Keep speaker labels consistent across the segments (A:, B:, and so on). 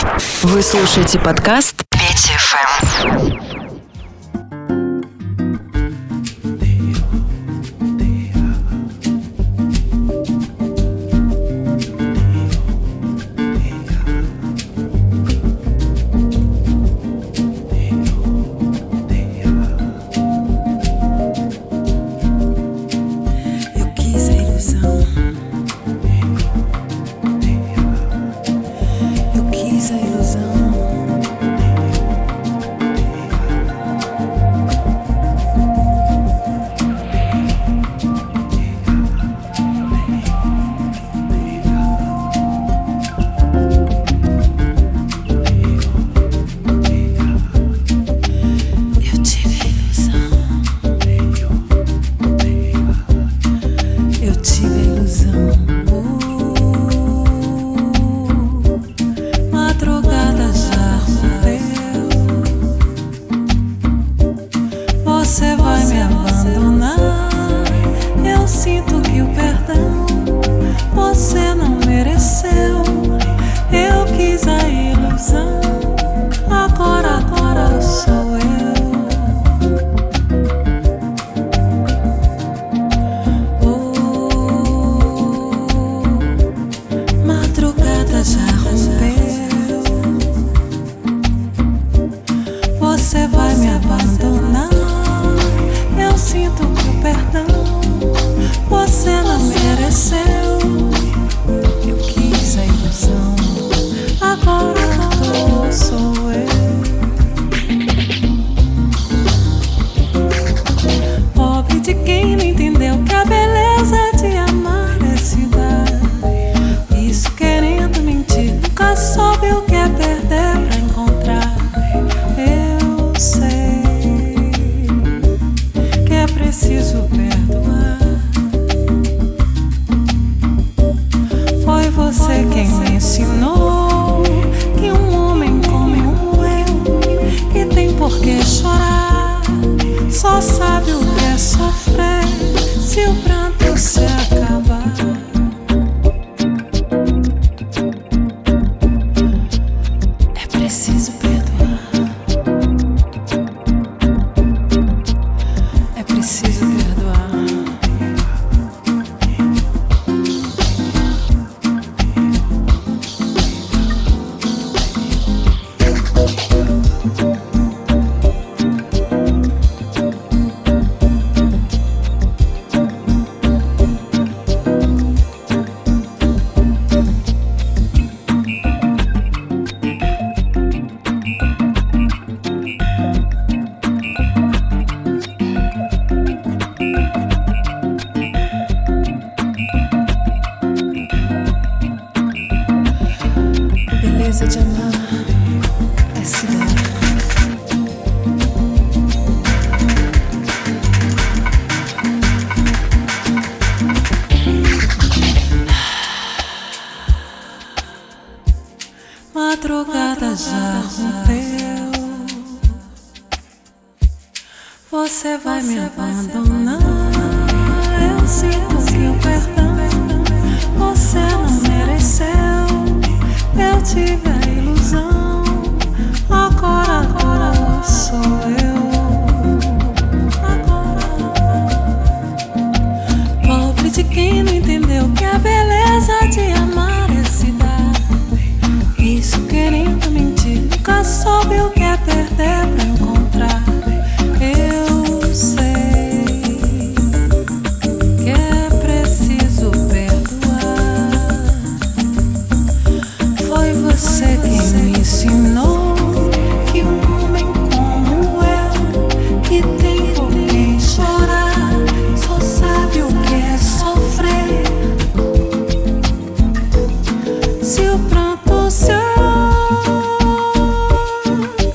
A: Вы слушаете подкаст Петя ФМ.
B: Madrugada já rompeu. Você vai me abandonar. Eu sinto que o perdão você não mereceu. Eu tive a ilusão. Agora sou eu. Pobre de quem não entendeu que a beleza de amar é se dar. Isso querendo mentir, nunca soube o que é perder pra encontrar. Eu sei que é preciso perdoar. Foi você quem me ensinou que um homem como eu, que tem por quem chorar, só sabe o que é sofrer. Se o pranto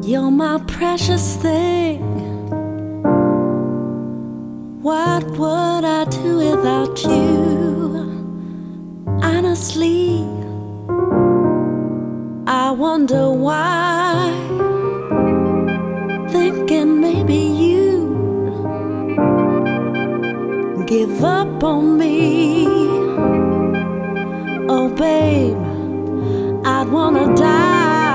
B: You're my precious thing. What would I do without you? Honestly, I wonder why. Thinking maybe you give up on me. Oh babe, I'd wanna die.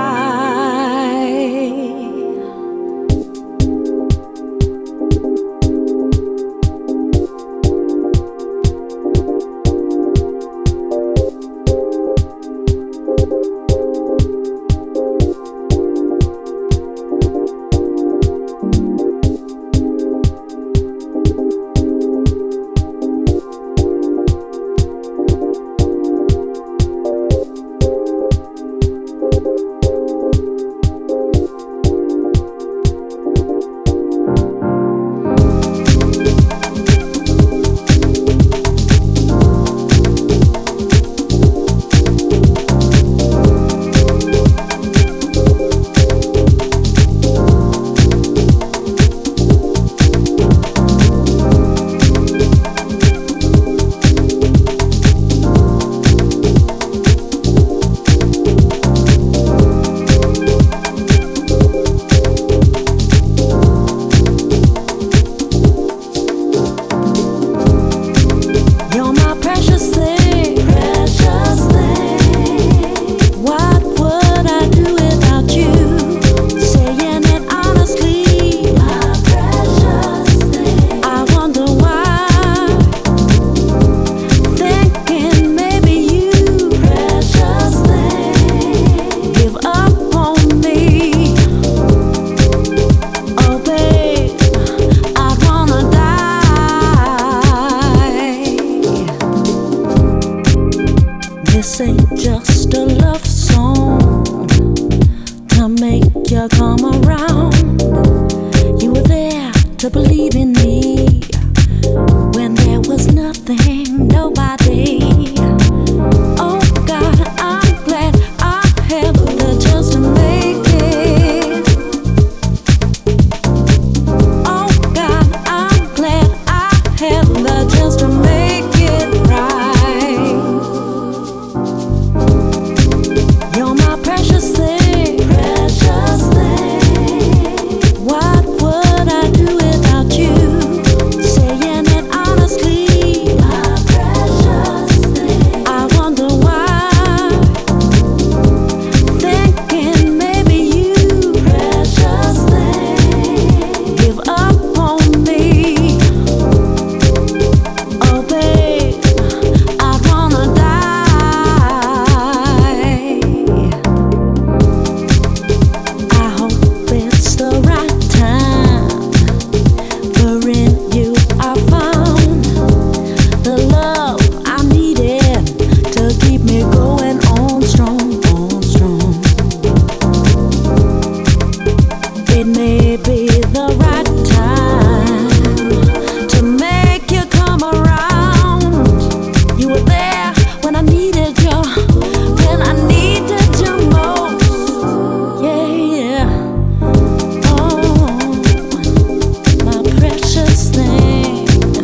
B: This ain't just a love song to make you come around. You were there to believe in me when there was nothing, nobody. Oh God, I'm glad I have the chance to make it. Oh God, I'm glad I have the chance to make it right. You're my precious thing, precious thing. What would I do without you? Saying it honestly, my precious thing. I wonder why. Thinking maybe you, precious thing, give up on me. Oh babe, I wanna die. I hope it's the right time. For in you I found the love I needed to keep me going on strong, on strong. It may be the right time to make you come around. You were there when I needed you, when I needed you most. Yeah, oh, my precious thing.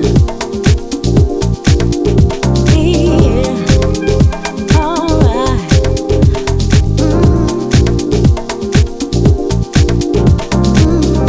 B: Yeah, alright. Mm.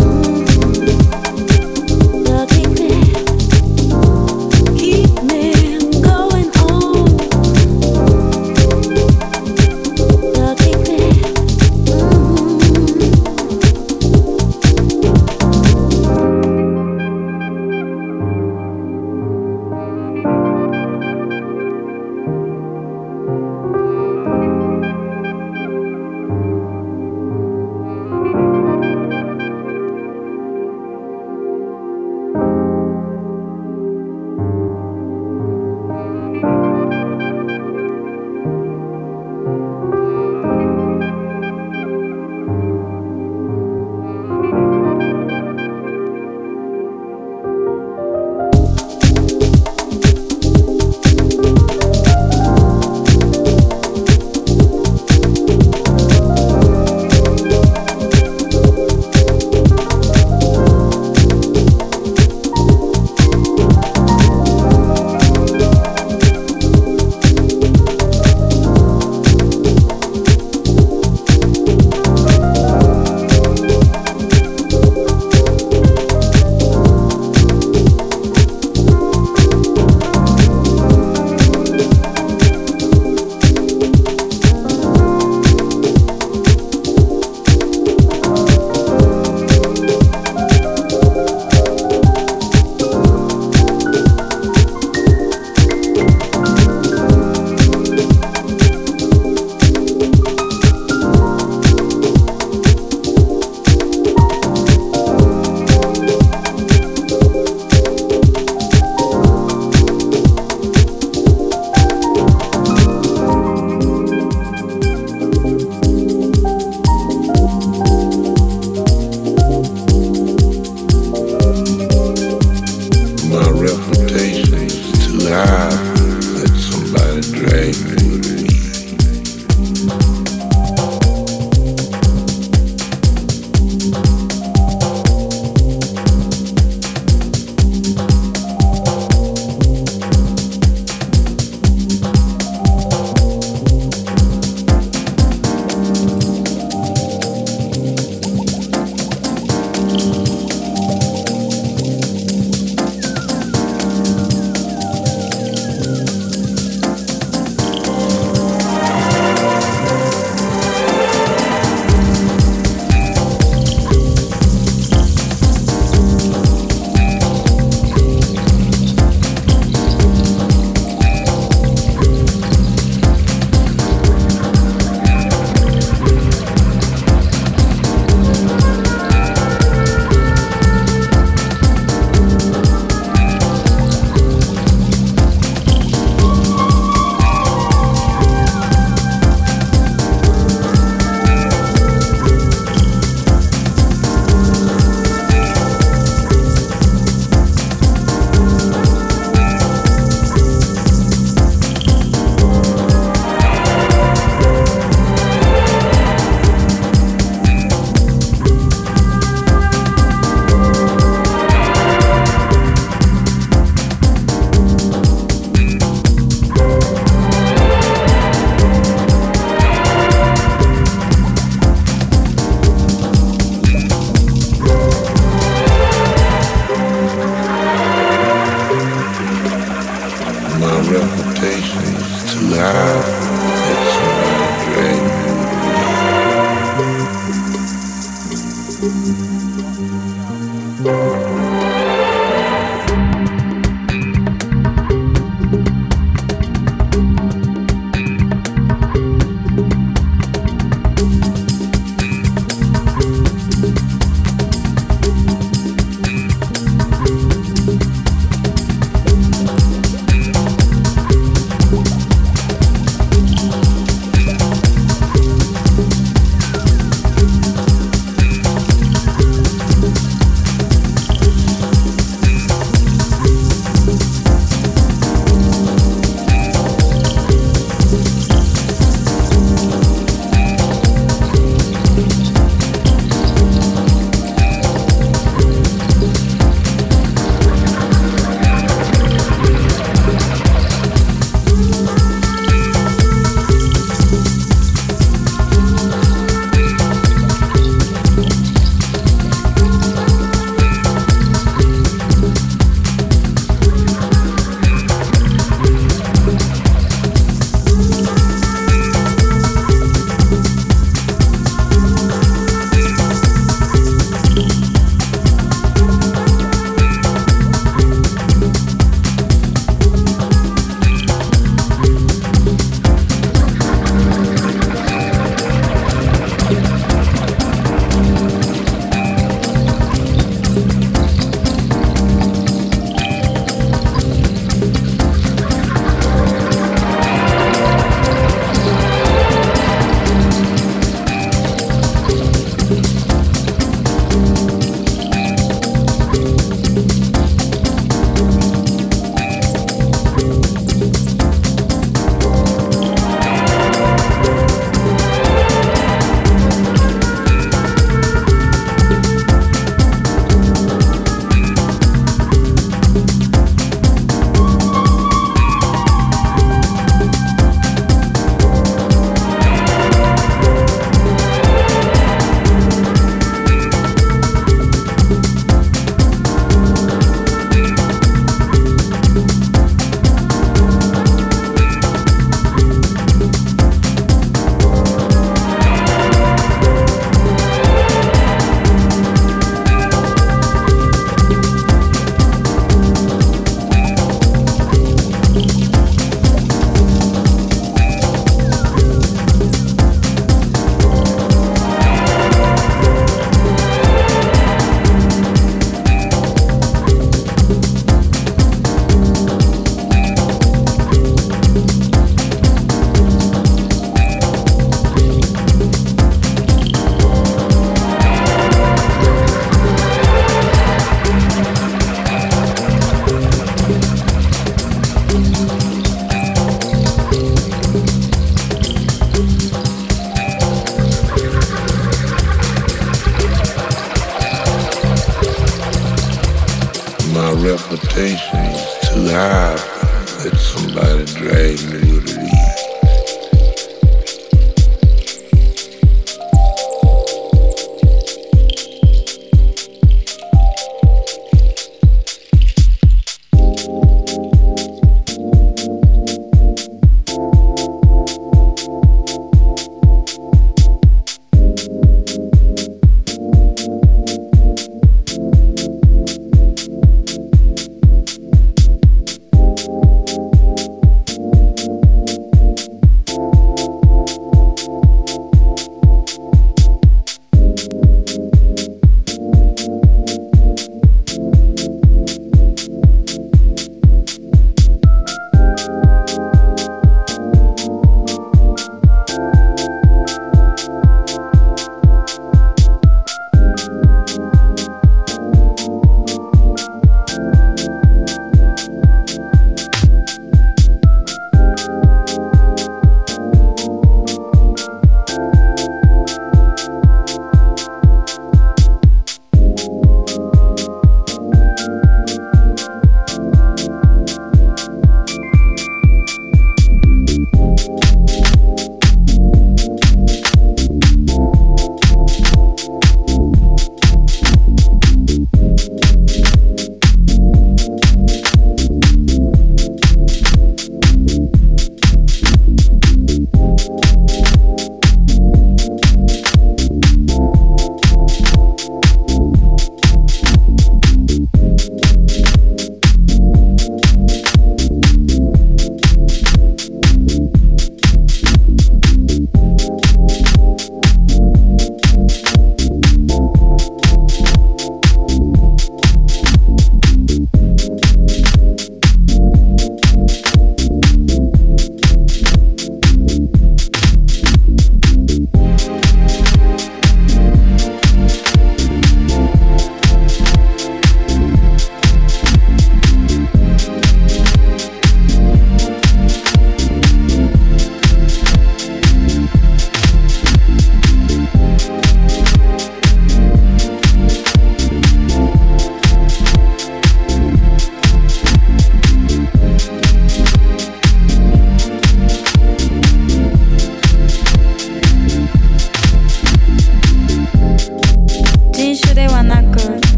C: reputation is too high that somebody dragged me to the lead.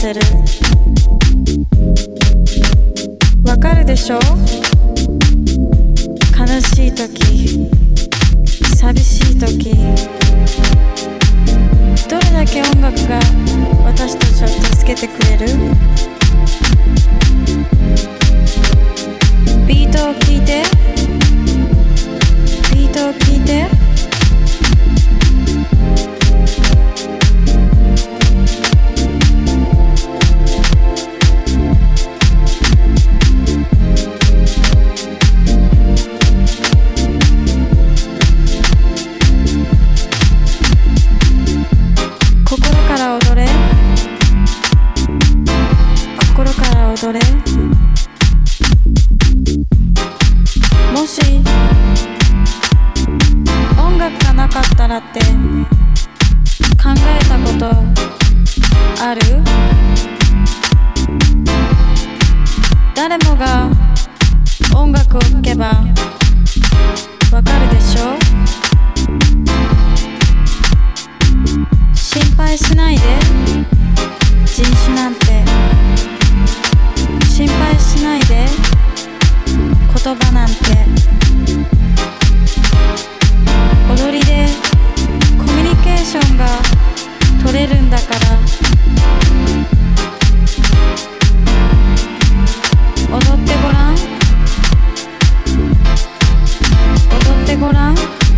D: せる。わかるでしょ？悲しい時、寂しい時、どれだけ音楽が私たちを助けてくれる？ビートを聴いて、ビートを聴いて。
B: それもし音楽がなかったらって考えたことある？誰もが音楽を聴けばわかるでしょ？心配しないで、人種なんて心配しないで、言葉なんて踊りでコミュニケーションが取れるんだから、踊ってごらん、踊ってごらん。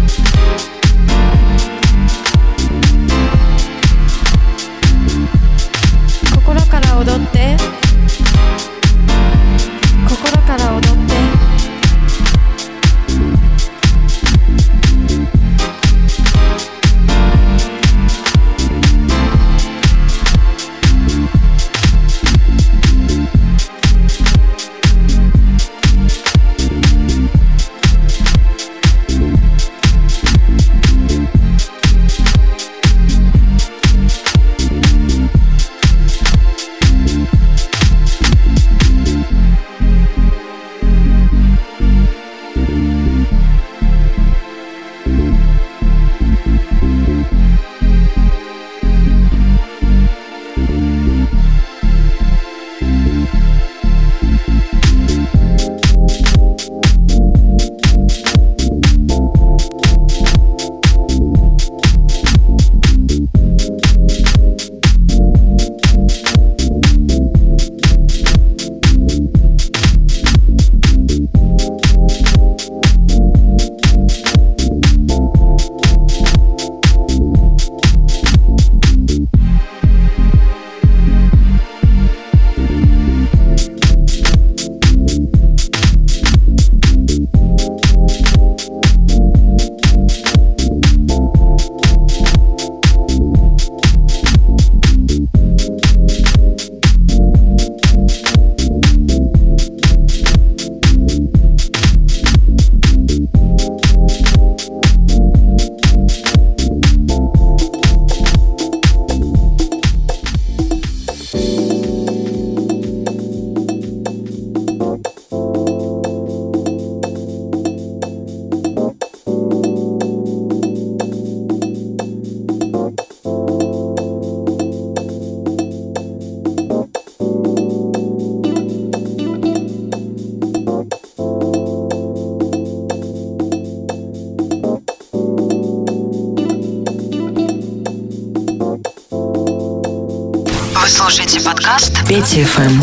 B: 心から踊って、心から踊って。
A: Вы слушаете подкаст Петя ФМ.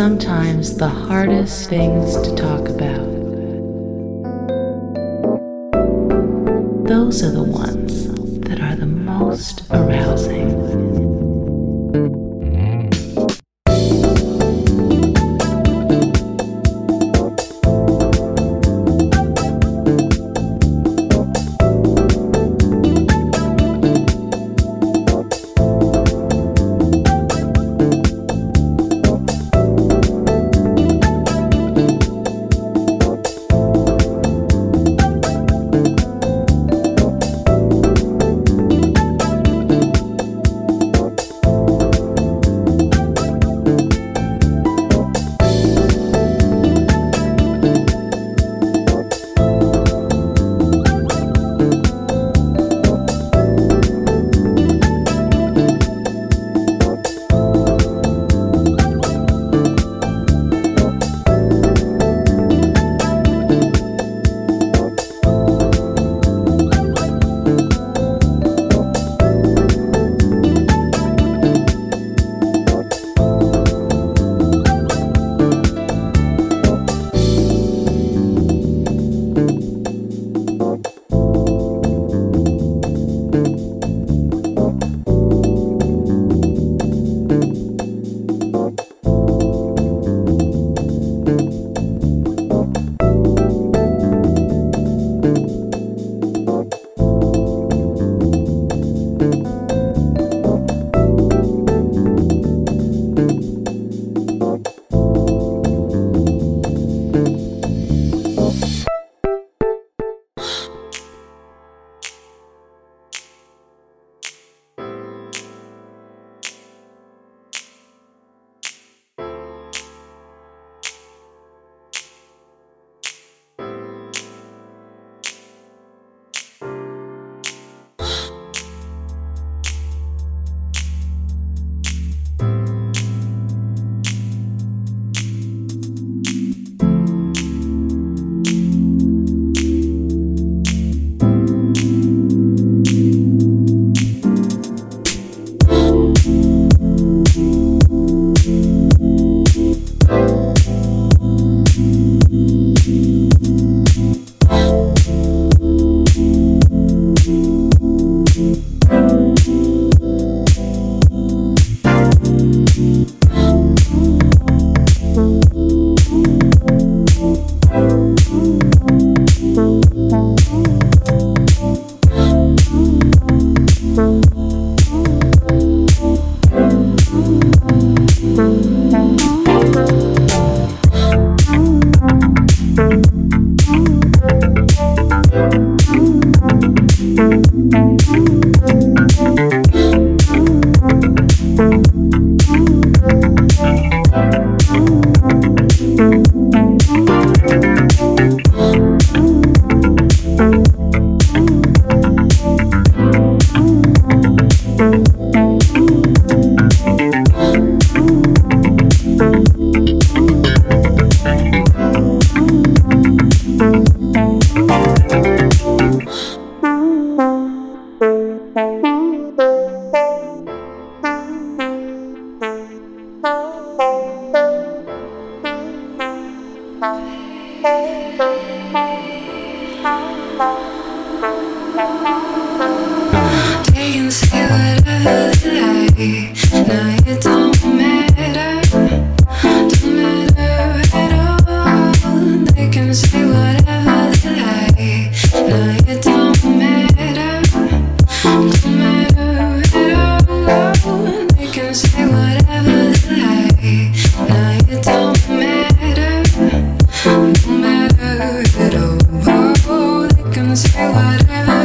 E: sometimes the hardest things to talk about. Those are the ones that are the most arousing.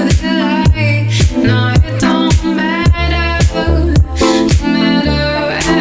B: Matter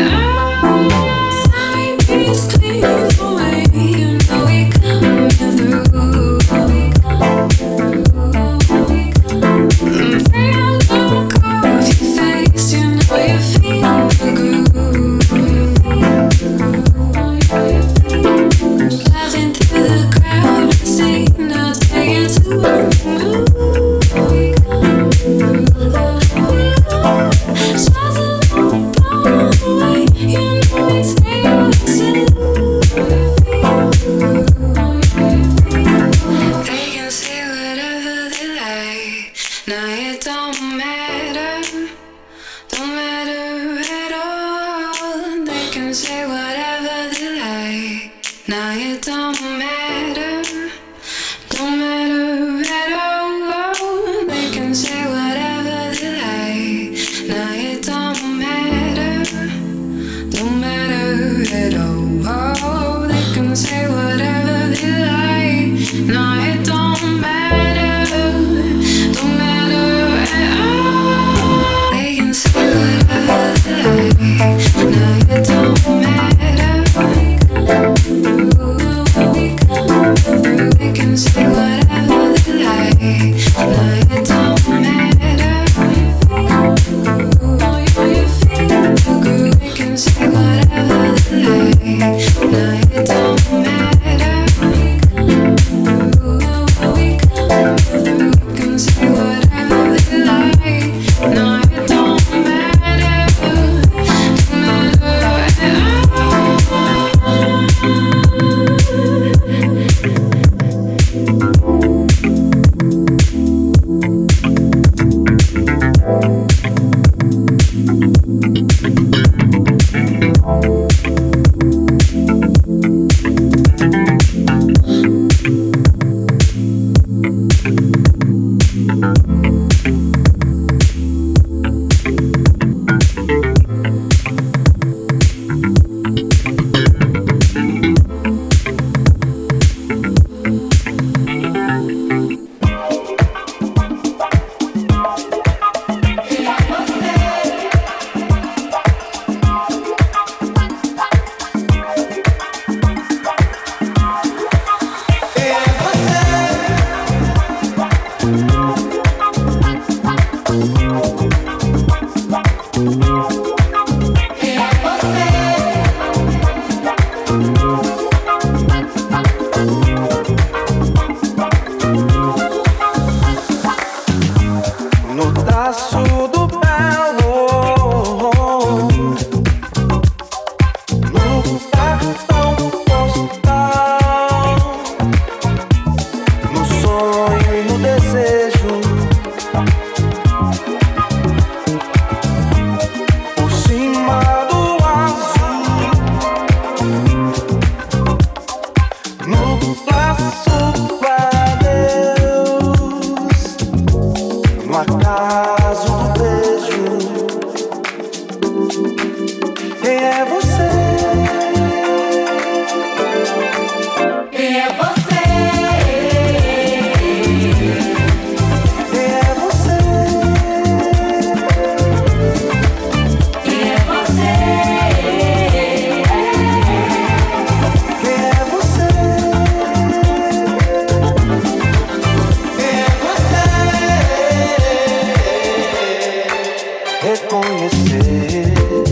F: reconhecer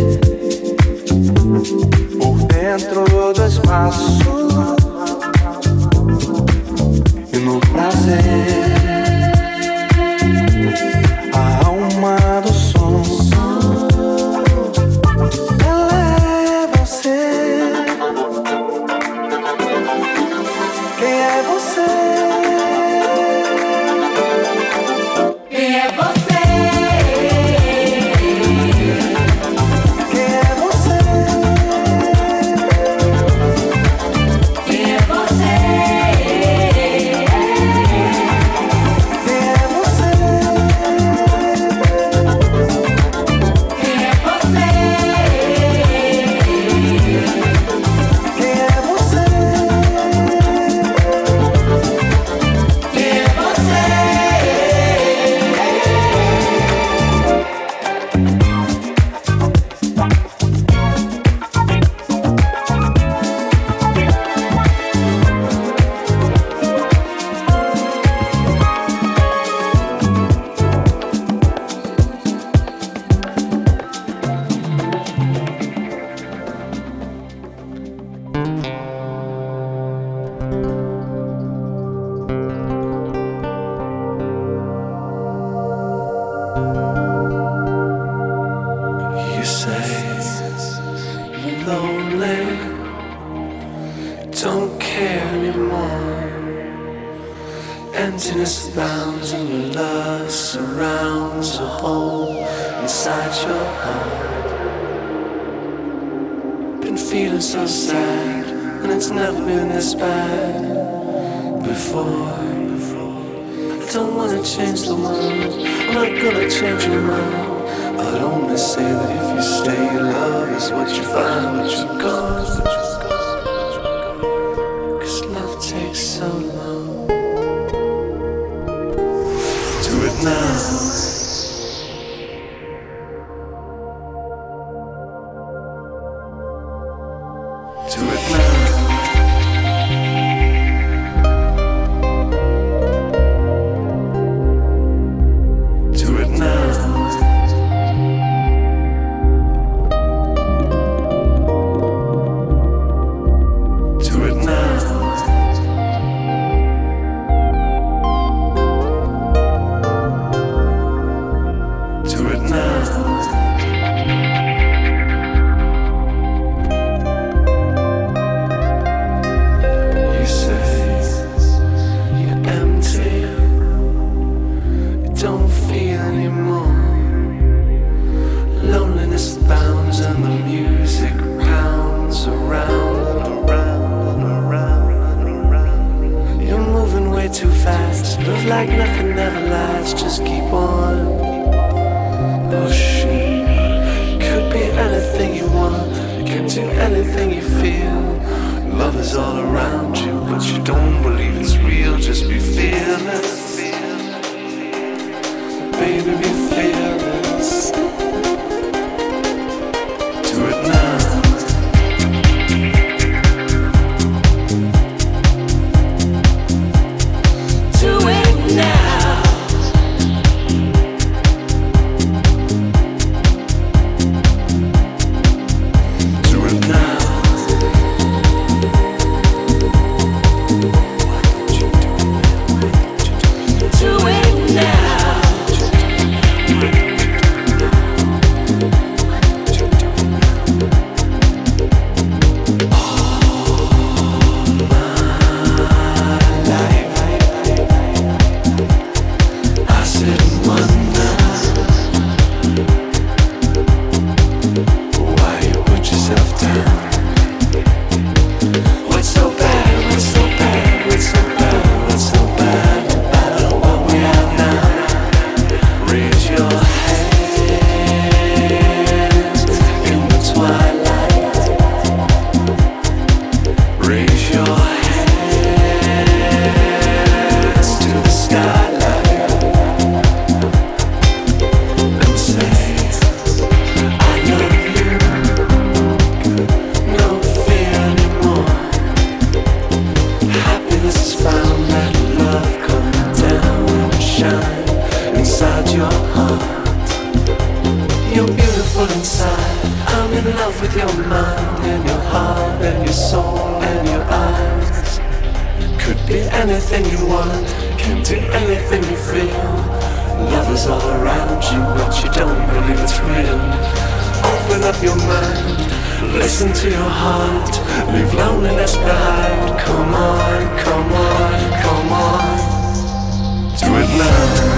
F: por dentro do espaço e no prazer a alma do som. Ela é você. Quem é você? Quem é você? Emptiness bounds and your love surrounds a hole inside your heart. Been feeling so sad, and it's never been this bad before. I don't wanna change the world, I'm not gonna change your mind. I'd only say that if you stay, love is what you find, what you got. 'Cause love takes so long. Now. Do it now. Do it now. Do it now. Like nothing ever lasts, just keep on pushing. beautiful inside. I'm in love with your mind and your heart and your soul and your eyes. Could be anything you want, can do anything you feel. Love is all around you, but you don't believe it's real. Open up your mind, listen to your heart, leave loneliness behind. Come on, come on, come on, do it now.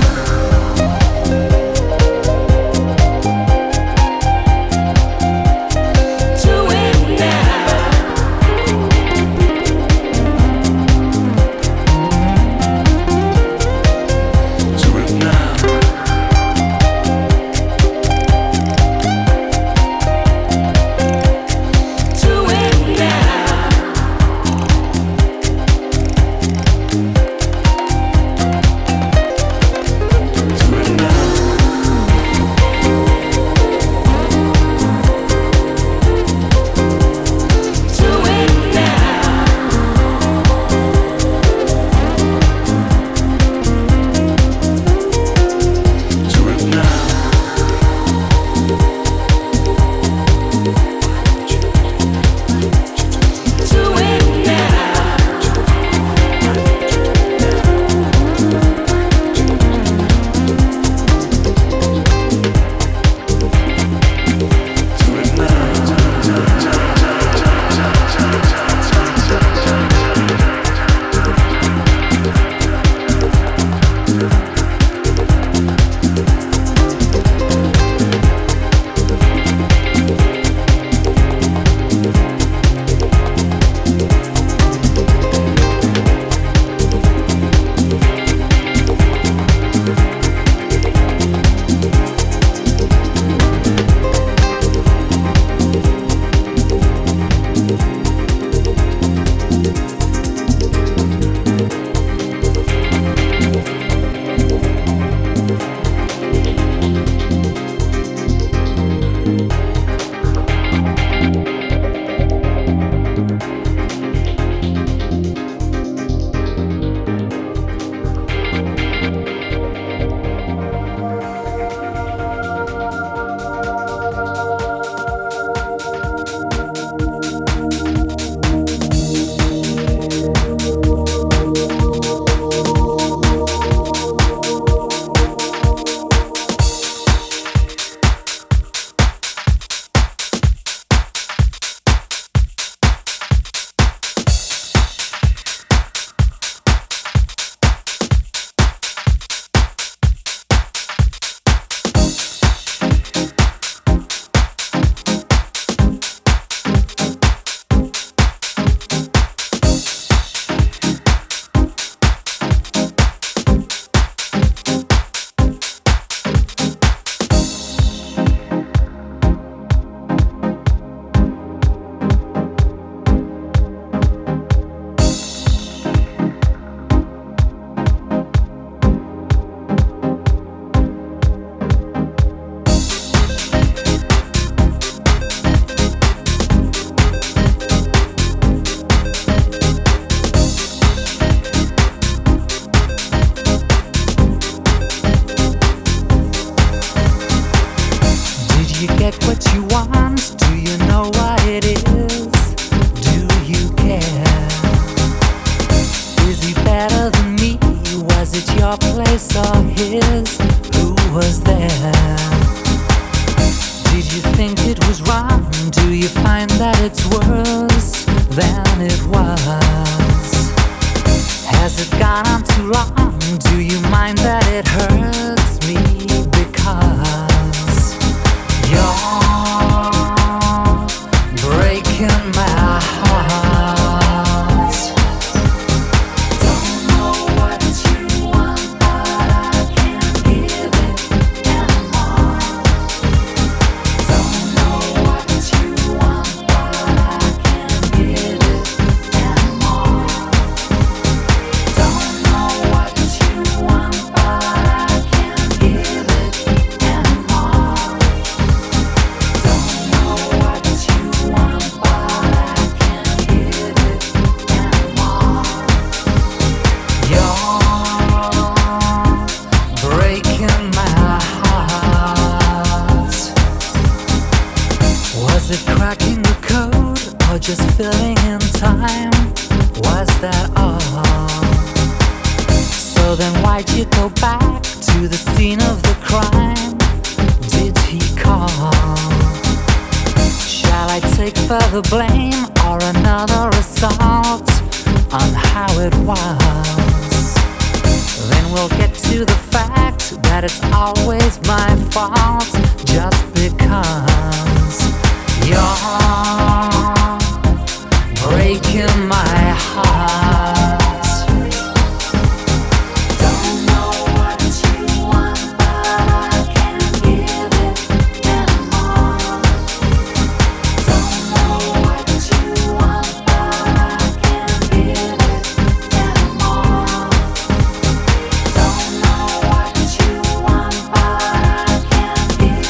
G: Was it cracking the code or just filling in time? Was that all? So then why'd you go back to the scene of the crime? Did he call? Shall I take further blame or another assault on how it was? Then we'll get to the fact that it's always my fault, just because you're breaking my heart. Don't know what you want, but I can't give it anymore. Don't know what you want, but I can't give it anymore. Don't know what you want, but I can't give it anymore.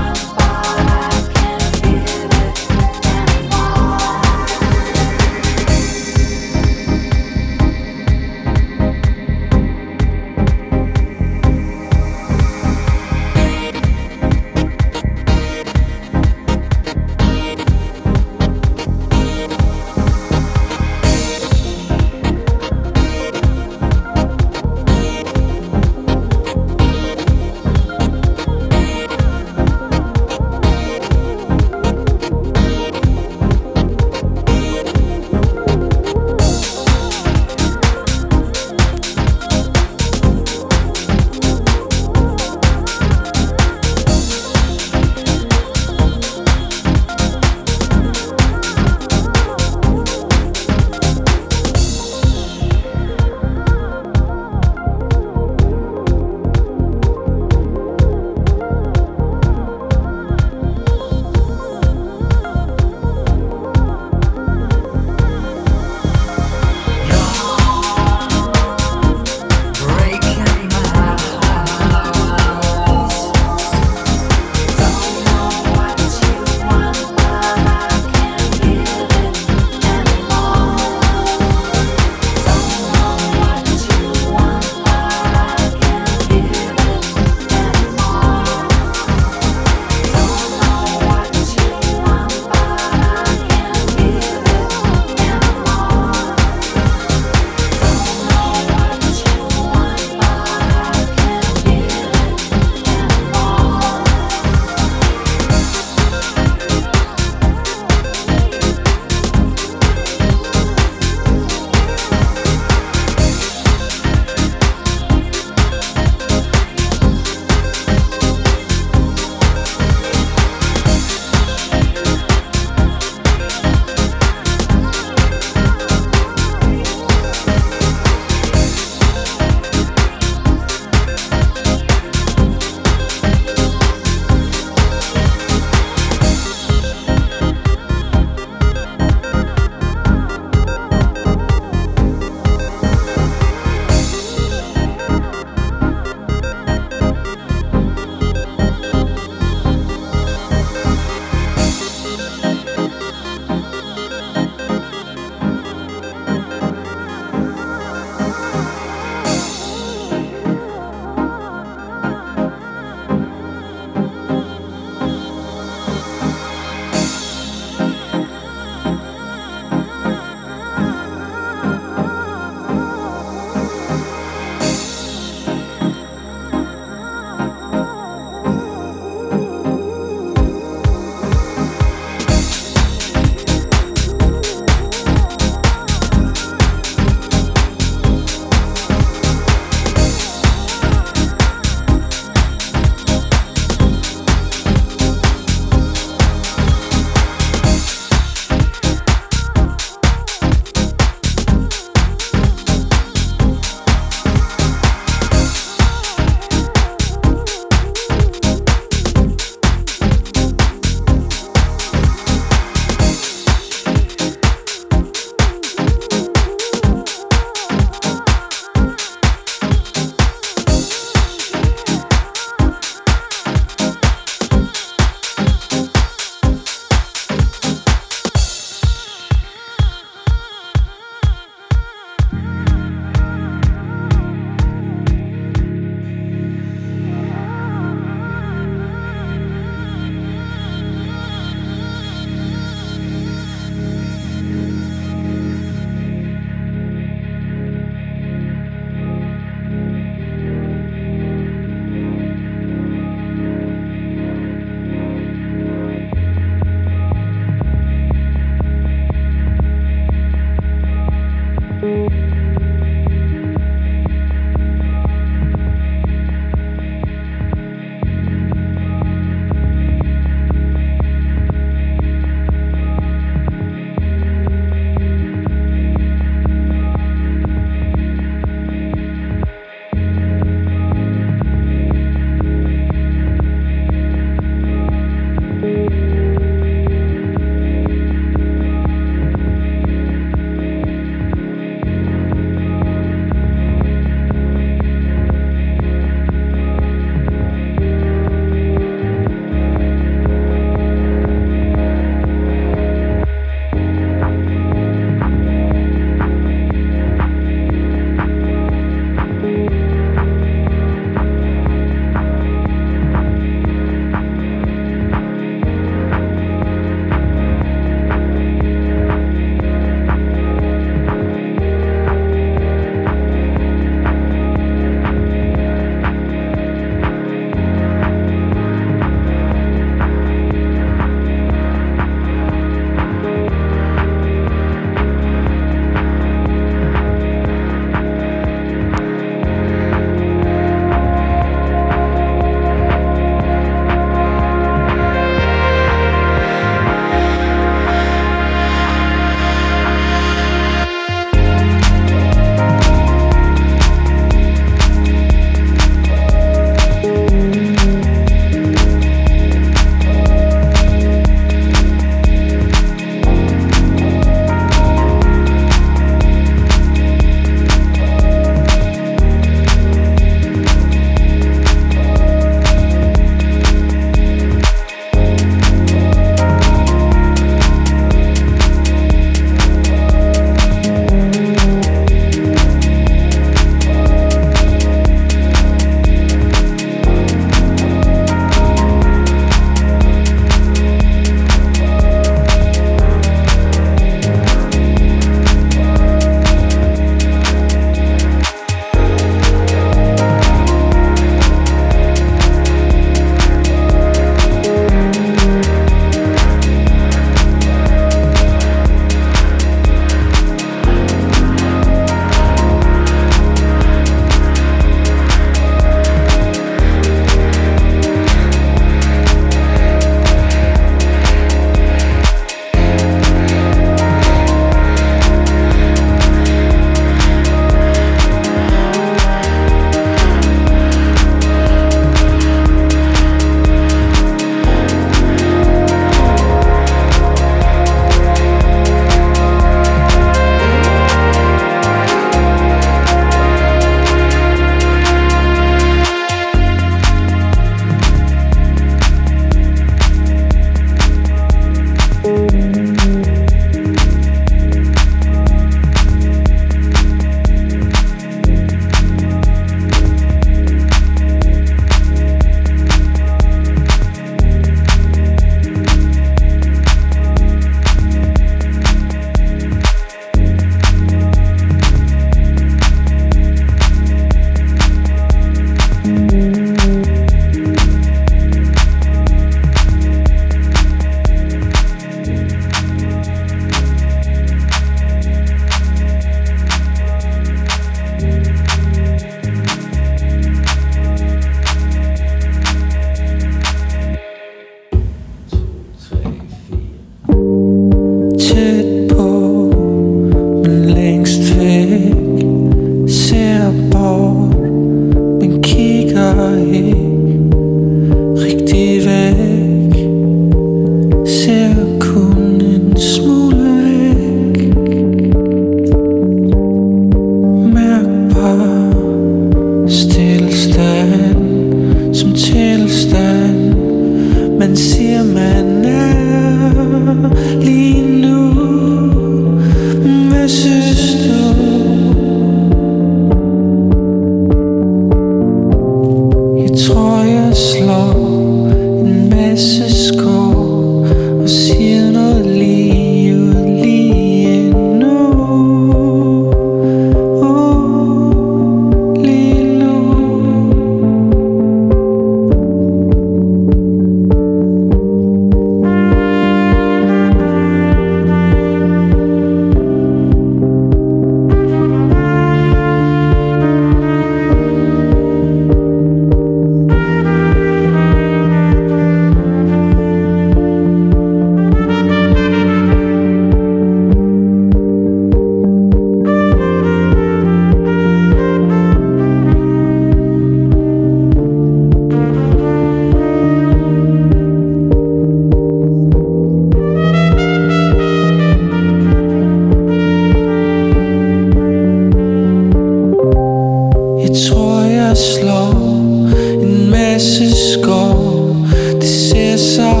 H: slår en masse skår. Det ser så